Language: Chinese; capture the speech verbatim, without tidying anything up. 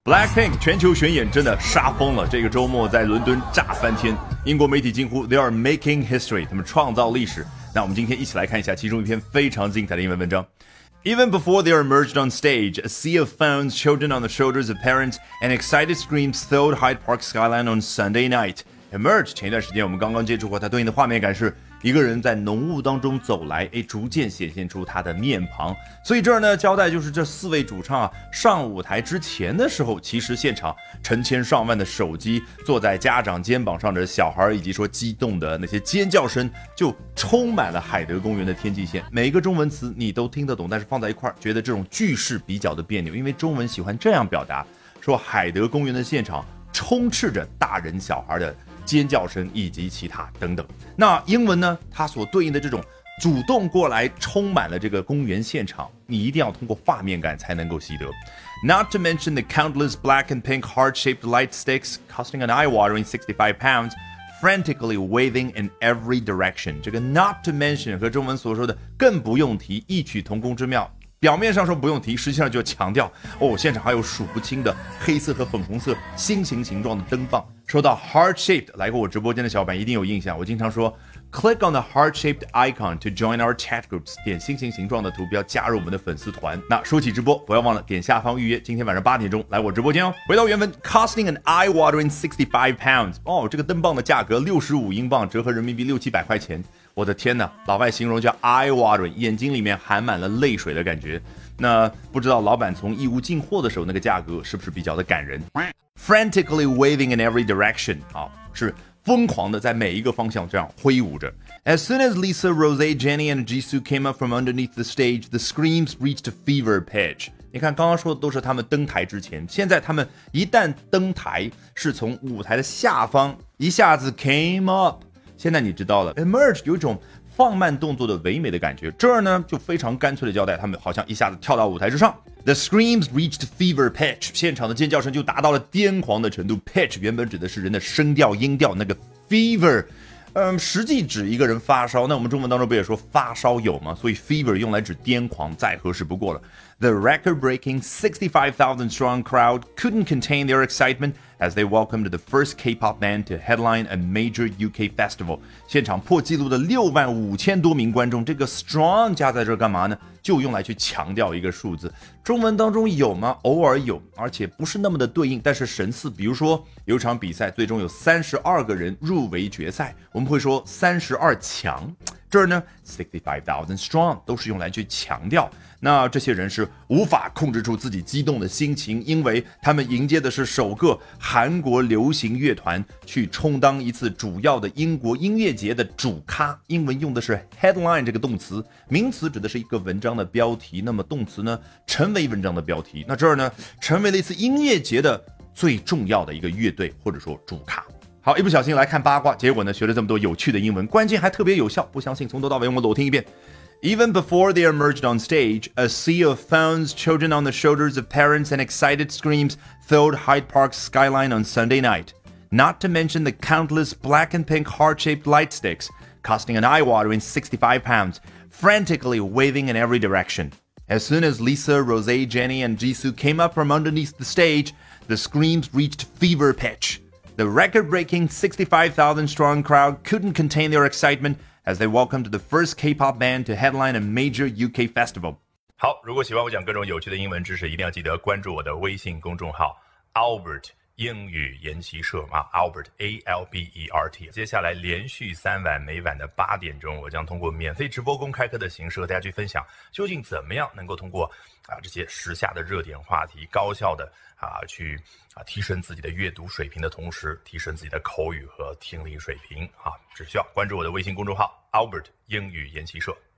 Blackpink 全球巡演真的杀疯了，这个周末在伦敦炸翻天，英国媒体惊呼 They are making history， 他们创造历史。那我们今天一起来看一下其中一篇非常精彩的英文文章。Even before they are emerged on stage, a sea of phones, children on the shoulders of parents, and excited screams filled Hyde Park skyline on Sunday night. Emerge 前一段时间我们刚刚接触过，它对应的画面感是一个人在浓雾当中走来，诶，逐渐显现出他的面庞。所以这儿呢交代就是这四位主唱啊上舞台之前的时候，其实现场成千上万的手机坐在家长肩膀上的小孩，以及说激动的那些尖叫声，就充满了海德公园的天际线。每一个中文词你都听得懂，但是放在一块儿，觉得这种句式比较的别扭，因为中文喜欢这样表达，说海德公园的现场充斥着大人小孩的尖叫声以及其他等等。那英文呢，它所对应的这种主动过来充满了这个公园现场，你一定要通过画面感才能够习得。Not to mention the countless black and pink heart-shaped light sticks costing an eye-watering sixty-five pounds, frantically waving in every direction. 这个 not to mention 和中文所说的更不用提异曲同工之妙。表面上说不用提，实际上就强调哦，现场还有数不清的黑色和粉红色心形形状的灯棒。说到 heart-shaped， 来过我直播间的小伙伴一定有印象，我经常说 Click on the heart-shaped icon to join our chat groups， 点心形形状的图标加入我们的粉丝团。那说起直播，不要忘了点下方预约，今天晚上八点钟来我直播间哦。回到原文 ，costing an eye-watering sixty-five pounds， 哦，这个灯棒的价格六十五英镑，折合人民币六七百块钱。我的天哪，老外形容叫 eye-watering， 眼睛里面含满了泪水的感觉。那不知道老板从义乌进货的时候那个价格是不是比较的感人 ？Frantically waving in every direction， 啊，是疯狂的在每一个方向这样挥舞着。As soon as Lisa, Rosé, Jennie and Jisoo came up from underneath the stage, the screams reached a fever pitch。你看，刚刚说的都是他们登台之前，现在他们一旦登台，是从舞台的下方一下子 came up。现在你知道了 ，emerge 有一种放慢动作的唯美的感觉。这儿呢就非常干脆的交代，他们好像一下子跳到舞台之上。The screams reached fever pitch， 现场的尖叫声就达到了癫狂的程度。Pitch 原本指的是人的声调、音调，那个 fever， 嗯，实际指一个人发烧。那我们中文当中不也说发烧友吗？所以 fever 用来指癫狂，再合适不过了。The record-breaking sixty-five thousand strong crowd couldn't contain their excitement as they welcomed the first K-pop band to headline a major U K festival。 现场破纪录的六万五千多名观众，这个 strong 加在这干嘛呢？就用来去强调一个数字。中文当中有吗？偶尔有，而且不是那么的对应，但是神似。比如说有一场比赛，最终有三十二个人入围决赛，我们会说三十二强。这儿呢 sixty-five thousand strong 都是用来去强调，那这些人是无法控制住自己激动的心情，因为他们迎接的是首个韩国流行乐团去充当一次主要的英国音乐节的主咖。英文用的是 headline 这个动词，名词指的是一个文章的标题，那么动词呢成为文章的标题。那这儿呢成为了一次音乐节的最重要的一个乐队或者说主咖。好，一不小心来看八卦，结果呢学了这么多有趣的英文，关键还特别有效，不相信从头到尾我裸听一遍。Even before they emerged on stage, a sea of phones, children on the shoulders of parents, and excited screams filled Hyde Park's skyline on Sunday night. Not to mention the countless black and pink heart-shaped light sticks, costing an eye-watering sixty-five pounds, frantically waving in every direction. As soon as Lisa, Rosé, Jennie, and Jisoo came up from underneath the stage, the screams reached fever pitch.The record-breaking sixty-five thousand strong crowd couldn't contain their excitement as they welcomed the first K-pop band to headline a major U K festival. 好，如果喜欢我讲各种有趣的英文知识，一定要记得关注我的微信公众号 Albert 英语研习社啊 Albert A L B E R T。接下来连续三晚，每晚的八点钟，我将通过免费直播公开课的形式和大家去分享，究竟怎么样能够通过啊这些时下的热点话题，高效的啊去啊提升自己的阅读水平的同时，提升自己的口语和听力水平啊，只需要关注我的微信公众号 Albert 英语研习社。